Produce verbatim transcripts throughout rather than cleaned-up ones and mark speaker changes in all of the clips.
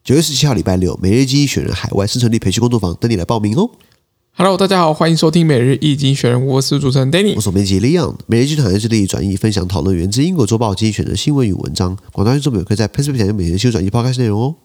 Speaker 1: 九月十七號禮拜六，每日一經濟學人海外生存力培訓工作坊等你來報名哦。
Speaker 2: Hello， 大家好，歡迎收聽每日一經濟學人，我是主持人 Danny，
Speaker 1: 我是編輯 Leon。每日一經濟學人致力轉譯、分享、討論源自英國週報經濟學人的新聞與文章。廣大聽眾朋友可以在 PressPlay 點每日新聞轉譯 Podcast 內容哦。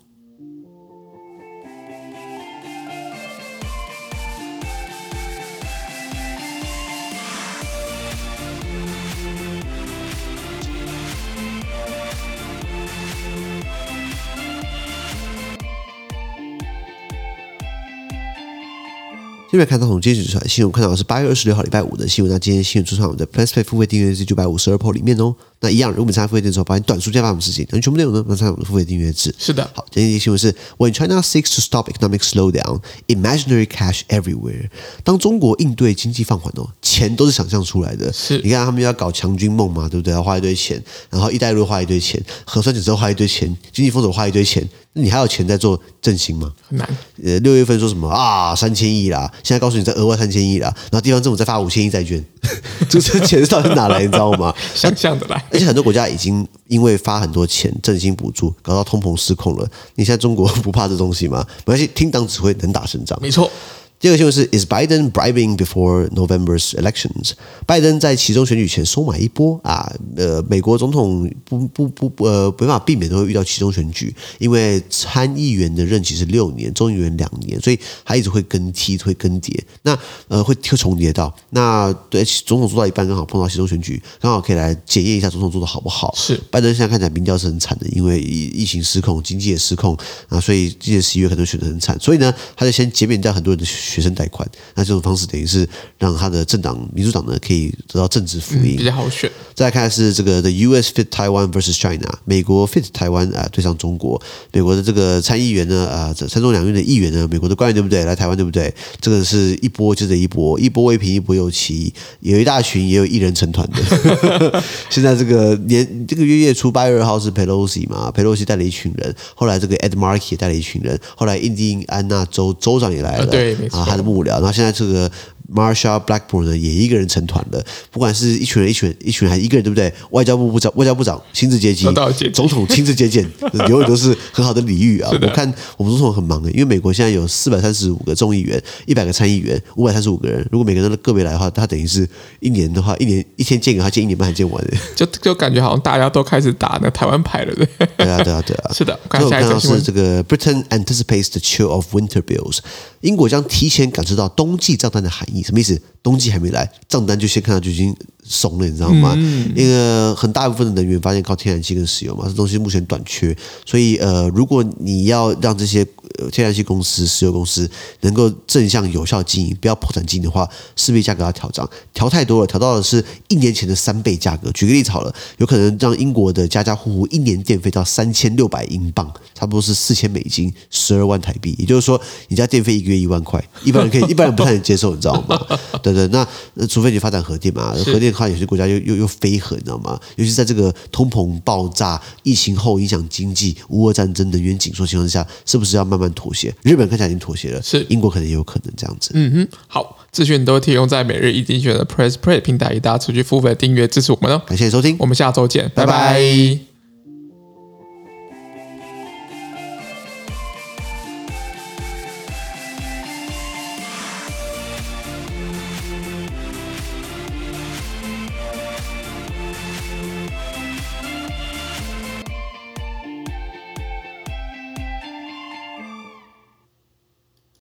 Speaker 1: 這邊看到從今天指出來的新聞，看到的是八月二十六號禮拜五的新聞。那今天新聞出現在我們的 PressPlay 付費訂閱制九百五十二 Pro 裡面哦。那一樣，如果你參加付費訂閱之後，發現短書加發什麼事情？那全部內容呢？那參加我們的付費訂閱制。
Speaker 2: 是的。
Speaker 1: 好，今天的新聞是 When China seeks to stop economic slowdown, imaginary cash everywhere。當中國應對經濟放緩哦，錢都是想象出來的。
Speaker 2: 是。你
Speaker 1: 看他們要搞強軍夢嘛，對不對？要花一堆錢，然後一帶一路花一堆錢，核酸檢測花一堆錢，經濟封鎖花一堆錢。你還有錢在做振興嗎？
Speaker 2: 很難。
Speaker 1: 呃，六月份說什麼啊？三千億啦，現在告訴你再額外三千億啦，然後地方政府再發五千億債券，這這錢到底是哪來？你知道嗎？
Speaker 2: 想象的來。而
Speaker 1: 且很多國家已經因為發很多錢振興補助，搞到通膨失控了。你現在中國不怕這東西嗎？沒關係，聽黨指揮，能打勝仗。
Speaker 2: 沒錯。
Speaker 1: 第二個新聞是 Is Biden bribing before November's elections？ 拜登在期中選舉前收買一波啊！呃，美國總統不不不呃沒辦法避免都會遇到期中選舉，因為參議員的任期是六年，眾議員兩年，所以他一直會更替，會更迭。那呃會會重疊到。那對總統做到一半，剛好碰到期中選舉，剛好可以來檢驗一下總統做的好不好。
Speaker 2: 是
Speaker 1: 拜登現在看起來民調是很慘的，因為疫情失控，經濟也失控啊，所以今年十一月可能選得很慘。所以呢，他就先減免掉很多人的學生貸款，那這種方式等於是讓他的政黨民主黨呢可以得到政治福音，
Speaker 2: 嗯，比較好選。
Speaker 1: 再來看的是這個 The U S fit Taiwan versus China， 美國 fit 台灣啊對上中國，美國的這個參議員呢啊參眾兩院的議員呢，美國的官員對不對？來台灣對不對？這個是一波接着一波，一波未平一波又起，有一大群也有一人成團的。現在這個年這個月月初八月二號是 Pelosi 嘛 ，Pelosi 帶了一群人，後來這個 Ed Markey 也帶了一群人，後來印第安納州州長也來了，
Speaker 2: 啊對，沒錯，
Speaker 1: 啊他的幕僚。然後現在這個 Marsha Blackburn 呢，也一個人成團了。不管是一群人、一群人、一群人，還是一個人，對不對？外交部部長、外交部長親自接機，總統親自接見，永遠都是很好的禮遇啊！我看我們總統很忙誒，因為美國現在有四百三十五個眾議員、一百個參議員、五百三十五個人。如果每個人都個別來的話，他等於是一年的話，一年一天見個他見一年半還見完誒。就
Speaker 2: 就感覺好像大家都開始打那台灣牌了，對？
Speaker 1: 對啊，對啊，對啊！
Speaker 2: 是的，
Speaker 1: 我看下一個是這個 Britain anticipates the chill of winter bills。英國將提前感受到冬季賬單的含義，什麼意思？冬季還沒來，賬單就先看到就已經慫了，你知道嗎？嗯、因為很大部分的能源發現靠天然氣跟石油嘛，這東西目前短缺，所以呃，如果你要讓這些天然氣公司、石油公司能夠正向有效經營，不要破產經營的話，勢必價格要調漲，調太多了，調到的是一年前的三倍價格。舉個例子好了，有可能讓英國的家家戶戶一年電費到三千六百英鎊，差不多是四千美金，十二萬台幣。也就是說，你家電費一個月一萬塊，一般人可以，一般人不太能接受，你知道嗎？對對，那除非你發展核電嘛，核電的話，有些國家又又又非核，你知道嗎？尤其是在這個通膨爆炸、疫情後影響經濟、烏俄戰爭、能源緊縮情況之下，是不是要慢慢妥協？日本看起來已經妥協了，是英國可能也有可能這樣子。
Speaker 2: 嗯哼，好，資訊都會提供在每日一經濟學人的 PressPlay 平台，大家持續付費訂閱支持我們哦。
Speaker 1: 感謝收聽，
Speaker 2: 我們下周見，拜拜。拜拜。